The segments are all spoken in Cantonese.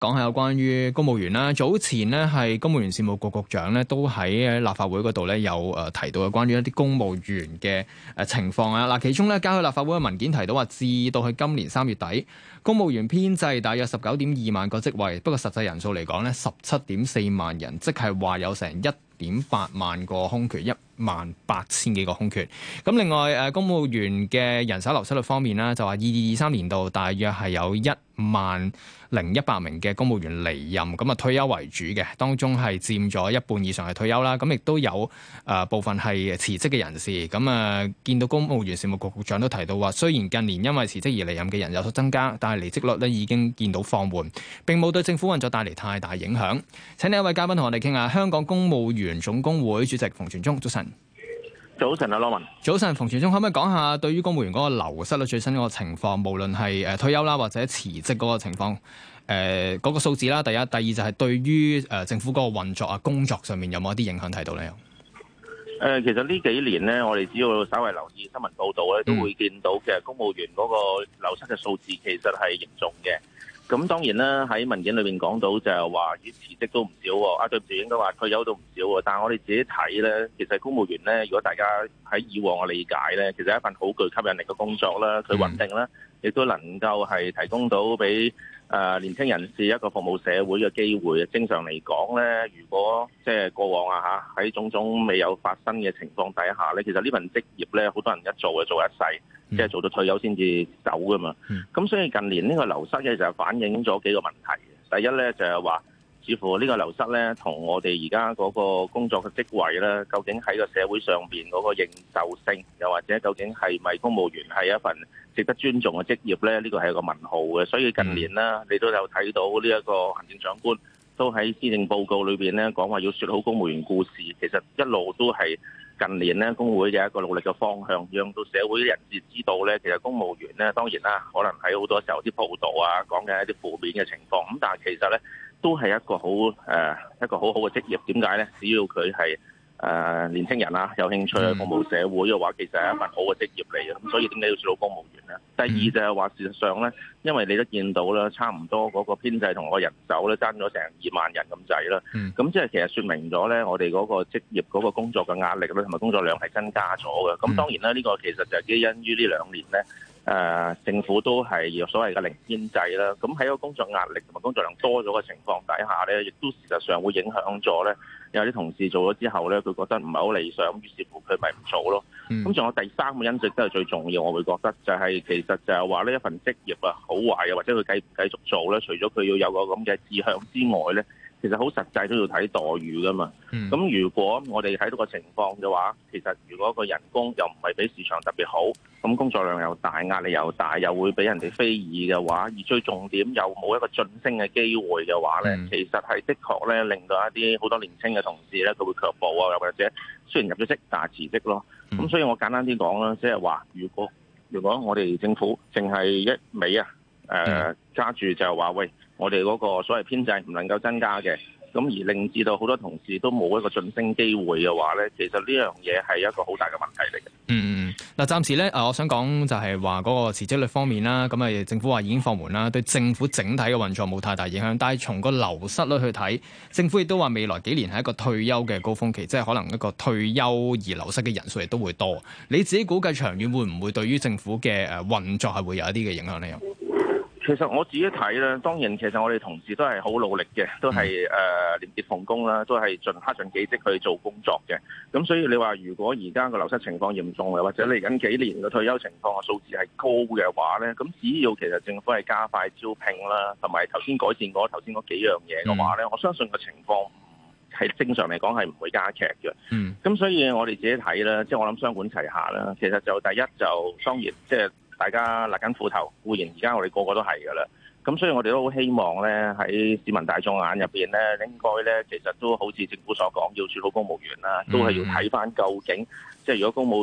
講下有關於公務員啦。早前呢，係公務員事務局局長呢都喺立法會嗰度呢有提到有關於一啲公務員嘅情況啊。嗱，其中呢，交去立法會嘅文件提到話，至到去今年3月底，公務員編制大約19.2萬個職位，不過實際人數嚟講呢，17.4萬人，即係話有成1.8萬個空缺，18000幾個空缺。咁另外公務員嘅人手流失率方面呢，就話22-23年度大約係有10100名嘅公務員離任，咁退休為主嘅，當中係佔咗一半以上係退休啦。咁亦都有部分係辭職嘅人士。咁見到公務員事務局局長都提到話，雖然近年因為辭職而離任嘅人有所增加，但係離職率咧已經見到放緩，並冇對政府運作帶嚟太大影響。請呢一位嘉賓同我哋傾下，香港公務員總工會主席馮傳宗，早晨。 早晨啊，羅文。 早晨，馮傳宗，可唔可以講下對於公務員嗰個流失率最新嗰個情況，無論係退休啦或者辭職嗰個情況，嗰個數字啦，第一，第二就係對於政府嗰個運作啊、工作上面有冇一啲影響睇到咧？ 其實呢幾年咧，我哋只要稍為留意新聞報導咧，都會見到其實公務員嗰個流失嘅數字其實係嚴重嘅。咁當然啦，喺文件裏面講到就係話，辭職都唔少喎。對唔住，應該話退休都唔少喎。但係我哋自己睇咧，其實公務員咧，如果大家喺以往嘅理解咧，其實係一份好具吸引力嘅工作啦，佢穩定啦，亦都能夠係提供到俾年輕人士一個服務社會嘅機會。正常嚟講咧，如果即係過往喺種種未有發生嘅情況底下咧，其實呢份職業咧，好多人一做就做一世。即係做到退休先至走噶嘛，咁所以近年呢個流失嘅就反映咗幾個問題。第一咧就係話，似乎呢個流失咧同我哋而家嗰個工作嘅職位咧，究竟喺個社會上邊嗰個認受性，又或者究竟係咪公務員係一份值得尊重嘅職業咧？呢個係一個問號嘅。所以近年啦，你都有睇到呢一個行政長官都喺施政報告裏邊咧講話要説好公務員故事，其實一路都係近年咧工會嘅一個努力嘅方向，讓到社會人士知道咧，其實公務員咧當然啦，可能喺好多時候啲報道啊講緊一啲負面嘅情況，咁但係其實咧都係一個好好嘅職業。點解咧？只要佢係年輕人有興趣去服務社會嘅話，其實係一份好嘅職業嚟嘅。咁所以點解要做到公務員咧？第二就係話，事實上咧，因為你都見到啦，差唔多嗰個編制同個人手咧爭咗成2萬人咁滯啦。咁即係其實説明咗咧，我哋嗰個職業嗰個工作嘅壓力咧，同埋工作量係增加咗嘅。咁當然啦，呢個其實就係基因於呢2年咧，政府都係有所謂嘅零編制啦。咁喺個工作壓力同埋工作量多咗嘅情況底下咧，亦都事實上會影響咗咧。有啲同事做咗之後咧，佢覺得唔係好理想，於是乎佢咪唔做咯。咁仲有第三個因素都係最重要，我會覺得就係其實就係話呢一份職業好壞或者佢繼唔繼續做咧，除咗佢要有個咁嘅志向之外咧，其實好實際都要睇待遇噶嘛。咁如果我哋睇到個情況嘅話，其實如果個人工又唔係比市場特別好，咁工作量又大，壓力又大，又會俾人哋非議嘅話，而最重點又冇一個晉升嘅機會嘅話咧，其實係的確咧令到一啲好多年輕嘅同事咧，佢會卻步啊，又或者雖然入咗職，但係辭職咯。咁所以我簡單啲講啦，即係話如果我哋政府淨係一味加住就係話喂，我哋嗰個所謂編制唔能夠增加嘅，咁而令至到好多同事都冇一個晉升機會嘅話咧，其實呢樣嘢係一個好大嘅問題嚟嘅。 嗱，暫時咧，我想講就係話嗰個辭職率方面啦，咁政府話已經放緩啦，對政府整體嘅運作冇太大影響。但係從個流失率去睇，政府亦都話未來幾年係一個退休嘅高峰期，即係可能一個退休而流失嘅人數亦都會多。你自己估計長遠會唔會對於政府嘅運作係會有一啲嘅影響呢？ 其實我自己睇咧，當然其實我哋同事都係好努力嘅，都係廉潔奉公啦，都係盡恪盡己職去做工作嘅。咁所以你話如果而家個流失情況嚴重嘅，或者嚟緊幾年嘅退休情況嘅數字係高嘅話咧，咁只要其實政府係加快招聘啦，同埋頭先改善過頭先嗰幾樣嘢嘅話咧，我相信個情況係正常嚟講係唔會加劇嘅。咁所以我哋自己睇啦，即係我諗雙管齊下啦。其實就第一就當然即係大家勒緊褲頭，固然而家我哋個個都係㗎啦。咁所以我哋都好希望咧，喺市民大眾眼入邊咧，應該咧其實都好似政府所講，要處好公務員啦，都係要睇翻究竟，即係如果公務員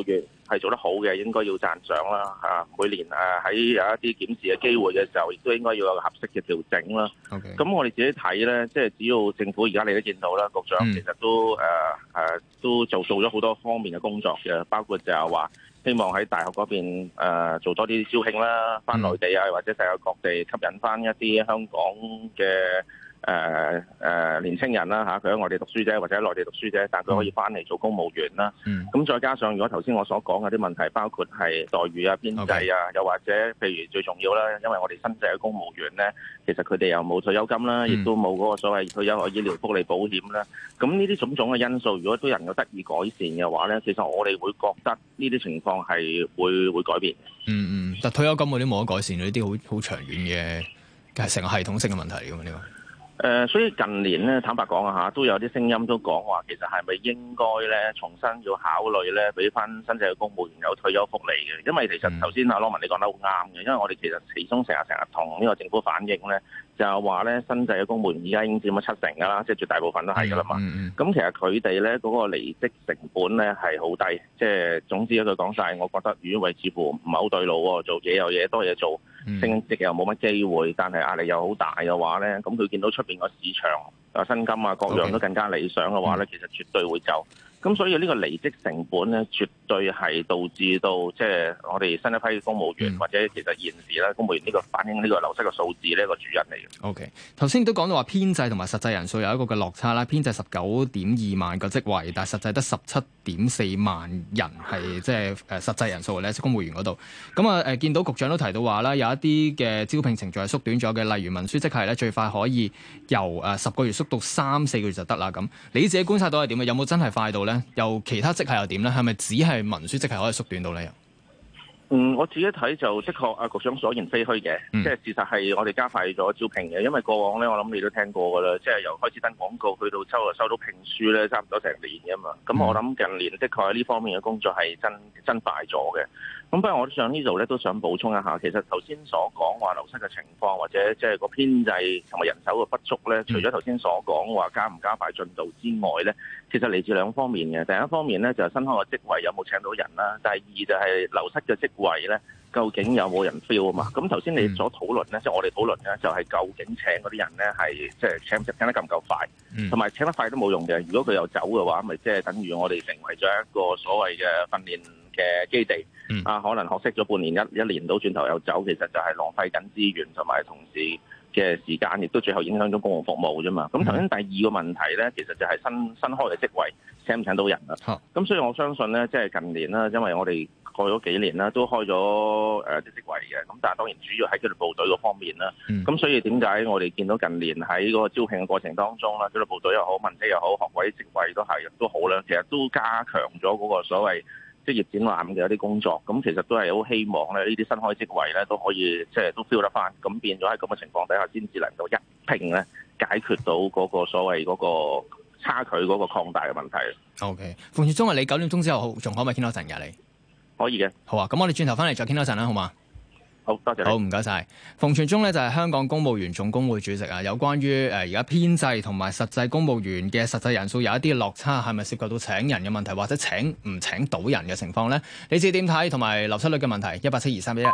係做得好嘅，應該要讚賞啦嚇。每年喺有一啲檢視嘅機會嘅時候，亦都應該要有個合適嘅調整啦。 Okay. 咁我哋自己睇咧，即係只要政府而家你都見到啦，局長其實都做咗好多方面嘅工作嘅，包括就係話希望喺大學嗰邊做多啲招聘啦，翻內地啊或者世界各地吸引翻一啲香港嘅年青人啦嚇，佢喺外地讀書啫，或者喺內地讀書啫，但佢可以翻嚟做公務員啦。咁再加上如果頭先我所講嘅啲問題，包括係待遇啊、編制啊，又或者譬如最重要啦，因為我哋新制嘅公務員咧，其實佢哋又冇退休金啦，亦都冇嗰個所謂退休嘅醫療福利保險啦。咁呢啲種種嘅因素，如果都能夠得以改善嘅話咧，其實我哋會覺得呢啲情況係會改變。 但退休金嗰啲冇得改善，呢啲好長遠嘅成個系統性嘅問題嚟㗎嘛呢個。 所以近年咧，坦白講啊嚇，都有啲聲音都講話，其實係咪應該咧重新要考慮咧，俾翻新制嘅公務員有退休福利嘅？因為其實頭先阿羅文你講得好啱嘅，因為我哋其實其中成日同呢個政府反映咧，就係話咧新制嘅公務員而家已經佔咗70%㗎啦，即係絕大部分都係㗎啦嘛。咁其實佢哋咧嗰個離職成本咧係好低，即係總之一句講晒，我覺得余偉似乎唔係好對路喎，做嘢有嘢多嘢做。升職又冇乜機會，但係壓力又好大嘅話咧，咁佢見到出邊個市場薪金啊各樣都更加理想嘅話咧，其實絕對會走。咁所以呢個離職成本咧，絕對係導致到即係我哋新一批公務員或者其實現時咧公務員呢個反映呢個流失嘅數字呢個主因嚟嘅。 OK， 頭先都講到話編制同埋實際人數有一個嘅落差啦，編制19.2萬個職位，但係實際得17.4萬人係即係實際人數咧，公務員嗰度。咁見到局長都提到話啦，有一啲嘅招聘程序係縮短咗嘅，例如文書職系咧，最快可以由10個月縮到3-4個月就得啦。咁你自己觀察到係點啊？有冇真係快到咧？又其他職系又點咧？係咪只係文書職系可以縮短到咧？ 我自己睇就的確局長所言非虛嘅，即係事實係我哋加快咗招聘嘅，因為過往咧我諗你都聽過㗎啦，即係由開始登廣告去到收到聘書咧，差唔多成年㗎嘛。咁我諗近年的確喺呢方面嘅工作係真快咗嘅。咁不過我想呢度咧都想補充一下，其實頭先所講話流失嘅情況，或者即係個編制同埋人手嘅不足咧，除咗頭先所講話加唔加快進度之外咧，其實嚟自兩方面嘅。第一方面咧就係新開嘅職位有冇請到人啦，第二就係流失嘅職位咧，究竟有冇人 fill 啊嘛？咁頭先你所討論咧，即係我哋討論咧，就係究竟請嗰啲人咧係即係請得夠唔夠快，同埋請得快都冇用嘅。如果佢又走嘅話，咪即係等於我哋成為咗一個所謂嘅訓練嘅基地。可能學識咗半年一年到轉頭又走，其實就係浪費緊資源同埋同事嘅時間，亦都最後影響咗公共服務啫嘛。咁頭先第二個問題咧，其實就係新開嘅職位請唔請到人啦。咁所以我相信咧，即係近年啦，因為我哋過咗幾年啦，都開咗啲職位嘅。咁但係當然主要喺紀律部隊嗰方面啦。咁所以點解我哋見到近年喺嗰個招聘嘅過程當中啦，紀律部隊又好，文職又好，學位職位都好啦，其實都加強咗嗰個所謂職業展覽嘅一啲工作，咁其實都係好希望咧，呢啲新開職位咧都可以即係都 fill 得翻，咁變咗喺咁嘅情況底下，先至能夠一併咧解決到嗰個所謂嗰個差距嗰個擴大嘅問題。 OK， 馮傳宗，你9點鐘之後仲可唔可以傾多陣㗎？你可以嘅。好啊，咁我哋轉頭翻嚟再傾多陣啦，好嘛？ 好，多謝。 好，唔該晒。馮傳宗咧就係香港公務員總工會主席啊。有關於而家編制同埋實際公務員嘅實際人數有一啲落差，係咪涉及到請人嘅問題，或者請唔請到人嘅情況咧？你自己點睇？同埋流失率嘅問題，1872311。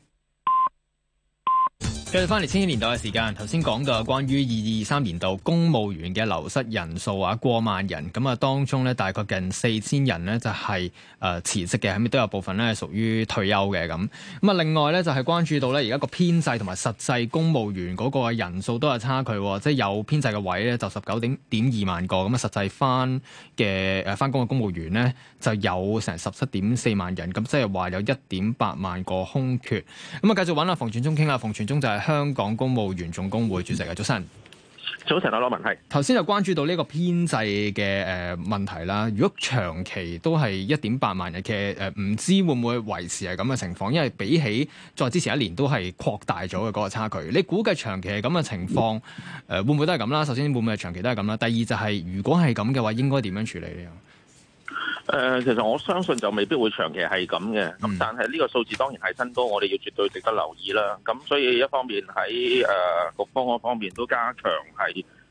繼續翻嚟千禧年代嘅時間，頭先講到關於2223年度公務員嘅流失人數過萬人，咁當中咧大概近4000人咧就係辭職嘅，係咪都有部分咧係屬於退休嘅咁？另外咧就係關注到咧而家個編制同埋實際公務員嗰個人數都有差距，即係有編制嘅位咧就19.2萬個，咁實際翻工嘅公務員咧就有成17.4萬人，咁即係話有1.8萬個空缺。咁繼續揾阿馮傳宗傾下，馮傳宗就係香港公務員總工會主席嘅。早晨。 早晨，羅文係。頭先就關注到呢個編制嘅問題啦。如果長期都係1.8萬人嘅唔知會唔會維持係咁嘅情況？因為比起再之前一年都係擴大咗嘅嗰個差距。你估計長期係咁嘅情況，會唔會都係咁啦？首先會唔會係長期都係咁啦？第二就係如果係咁嘅話，應該點樣處理呢？ 其實我相信就未必會長期係咁嘅，咁但係呢個數字當然係新高，我哋要絕對值得留意啦。咁所以一方面喺局方嗰方面都加強係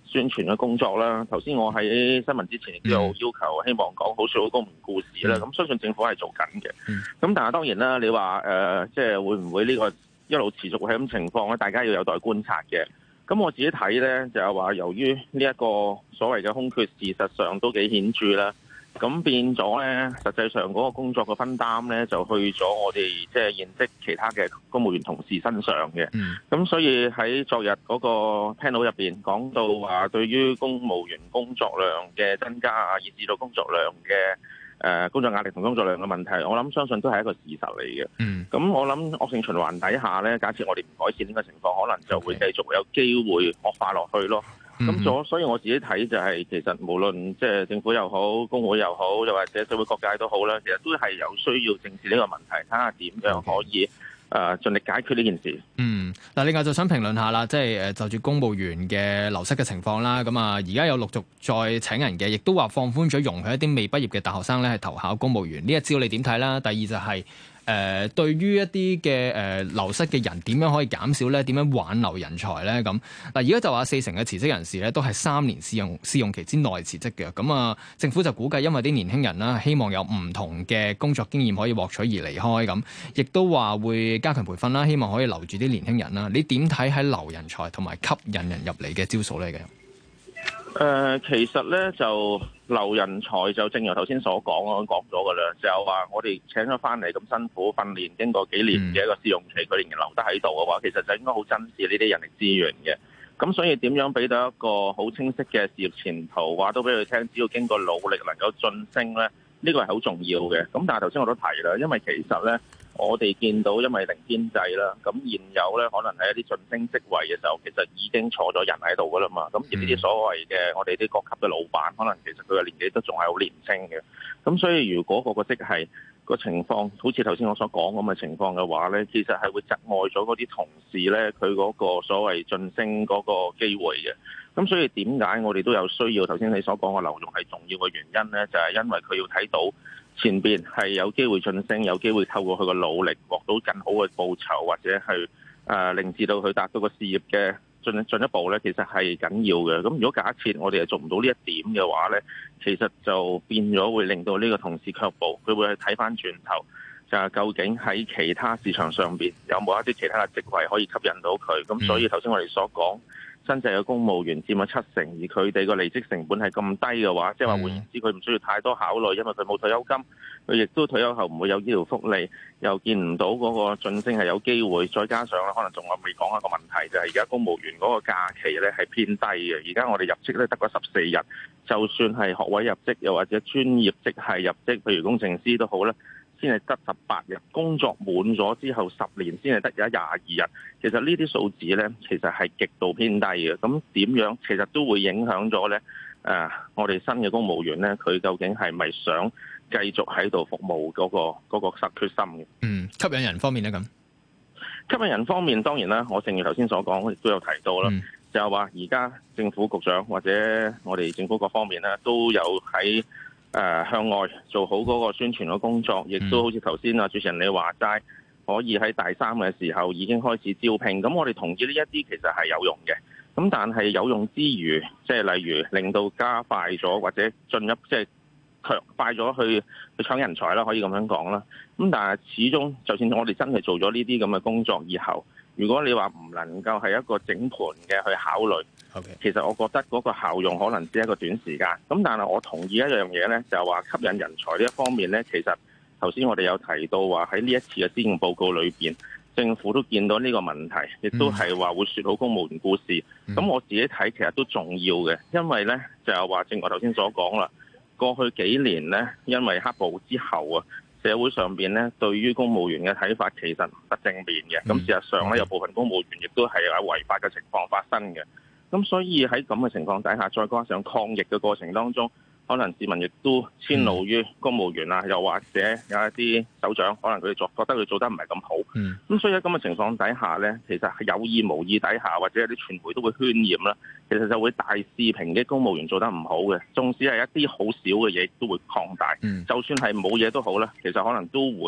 宣傳嘅工作啦。頭先我喺新聞之前亦都有要求，希望講好說好公務員故事啦。咁相信政府係做緊嘅。咁但係當然啦，你話即係會唔會呢個一路持續係咁情況咧？大家要有待觀察嘅。咁我自己睇咧，就係話由於呢一個所謂嘅空缺，事實上都幾顯著啦。咁變咗咧，實際上嗰個工作嘅分擔咧，就去咗我哋即係現職其他嘅公務員同事身上嘅。咁所以喺昨日嗰個 panel 入邊講到話，對於公務員工作量嘅增加啊，以至到工作量嘅工作壓力同工作量嘅問題，我諗相信都係一個事實嚟嘅。咁我諗惡性循環底下咧，假設我哋唔改善呢個情況，可能就會繼續有機會惡化落去咯。所以我自己睇就係，其實無論即係政府又好，工會又好，又或者社會各界都好啦，其實都係有需要正視呢個問題，睇下點樣可以盡力解決呢件事。 嗱，另外就想評論下啦，即係就住公務員嘅流失嘅情況啦。咁啊，而家有陸續再請人嘅，亦都話放寬咗容許一啲未畢業嘅大學生咧係投考公務員。呢一招你點睇啦？第二就係對於一啲嘅流失嘅人點樣可以減少咧？點樣挽留人才咧？咁嗱，而家就話40%嘅辭職人士咧都係3年試用期之內辭職嘅。咁啊，政府就估計因為啲年輕人啦，希望有唔同嘅工作經驗可以獲取而離開咁，亦都話會加強培訓啦，希望可以留住啲年輕人啦。你點睇喺留人才同埋吸引人入嚟嘅招數嚟嘅？ 其實咧就留人才就正如頭先所講，我講咗噶啦，就係話我哋請咗翻嚟咁辛苦訓練，經過幾年嘅一個試用期，佢仍然留得喺度嘅話，其實就應該好珍視呢啲人力資源嘅。咁所以點樣俾到一個好清晰嘅事業前途，話都俾佢聽，只要經過努力能夠晉升咧，呢個係好重要嘅。咁但係頭先我都提啦，因為其實咧，我哋見到因為零編制啦，咁現有咧可能係一啲晉升職位嘅時候，其實已經坐咗人喺度噶啦嘛。咁而呢啲所謂嘅我哋啲各級嘅老闆，可能其實佢嘅年紀都仲係好年輕嘅。咁所以如果個職系個情況好似頭先我所講咁嘅情況嘅話咧，其實係會窒礙咗嗰啲同事咧，佢嗰個所謂晉升嗰個機會嘅。咁所以點解我哋都有需要頭先你所講嘅留用係重要嘅原因咧，就係因為佢要睇到前邊係有機會晉升，有機會透過佢嘅努力獲到更好嘅報酬，或者係令至到佢達到個事業嘅進一步咧，其實係緊要嘅。咁如果假設我哋係做唔到呢一點嘅話咧，其實就變咗會令到呢個同事卻步，佢會去睇翻轉頭，就係究竟喺其他市場上邊有冇一啲其他嘅職位可以吸引到佢。咁所以頭先我哋所講，新制嘅公務員佔咗70%，而佢哋個離職成本係咁低嘅話，即係話換言之，佢唔需要太多考慮，因為佢冇退休金，佢亦都退休後唔會有醫療福利，又見唔到嗰個晉升係有機會，再加上咧，可能仲我未講一個問題，就係而家公務員嗰個假期咧係偏低嘅，而家我哋入職咧得個14日，就算係學位入職，又或者專業職系入職，譬如工程師都好啦，先係得18日，工作滿咗之後10年先係得有22日。其實呢啲數字咧，其實係極度偏低嘅。咁點樣其實都會影響咗咧？我哋新嘅公務員咧，佢究竟係咪想繼續喺度服務嗰個實決心嘅？ 吸引人方面咧咁， 吸引人方面當然啦，我正如頭先所講，亦都有提到啦，就係話而家政府局長或者我哋政府各方面咧，都有喺向外做好嗰個宣傳嘅工作，亦都好似頭先主持人你話齋，可以喺大三嘅時候已經開始招聘。咁我哋同意呢一啲其實係有用嘅。咁但係有用之餘，即係例如令到加快咗或者進一即係強快咗去搶人才啦，可以咁樣講啦。咁但係始終，就算我哋真係做咗呢啲咁嘅工作以後，如果你話唔能夠係一個整盤嘅去考慮，其實我覺得嗰個效用可能只係一個短時間。咁但係我同意一樣嘢咧，就係話吸引人才呢一方面咧，其實頭先我哋有提到話喺呢一次嘅施政報告裏邊，政府都見到呢個問題，亦都係話會説好公務員故事。咁我自己睇其實都重要嘅，因為咧就係話正如我頭先所講啦，過去幾年咧因為黑暴之後啊，社會上邊咧對於公務員嘅睇法其實唔得正面嘅。咁事實上咧有部分公務員亦都係有違法嘅情況發生嘅。咁所以喺咁嘅情況底下，再加上抗疫嘅過程當中，可能市民亦都遷怒於公務員啊，又或者有一啲首長，可能佢哋覺得佢做得唔係咁好。咁所以喺咁嘅情況底下咧，其實係有意無意底下，或者有啲傳媒都會渲染啦，其實就會大肆抨擊公務員做得唔好嘅。縱使係一啲好少嘅嘢，都會擴大。就算係冇嘢都好啦，其實可能都會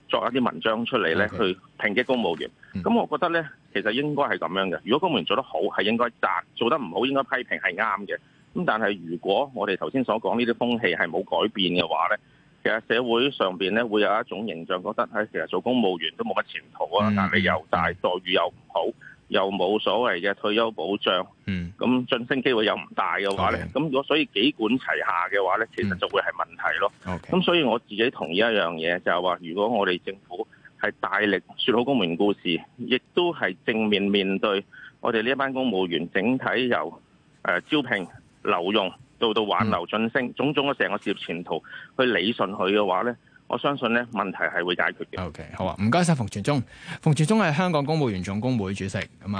作一啲文章出嚟咧，去抨擊公務員。咁我覺得咧，其實應該係咁樣嘅。如果公務員做得好，係應該讚；做得唔好，應該批評係啱嘅。咁但係如果我哋頭先所講呢啲風氣係冇改變嘅話咧，其實社會上邊咧會有一種形象，覺得其實做公務員都冇乜前途啊，壓力又大，待遇又唔好，又冇所謂嘅退休保障，咁晉升機會又唔大嘅話咧，咁如果所以幾管齊下嘅話咧，其實就會係問題咯。咁所以我自己同意一樣嘢，就係話，如果我哋政府係大力説好公務員故事，亦都係正面面對我哋呢一班公務員，整體由招聘、留用到挽留晉升，種種嘅成個事業前途去理順佢嘅話咧，我相信咧問題係會解決嘅。 OK， 好啊，唔該晒馮傳宗。馮傳宗係香港公務員總工會主席咁啊。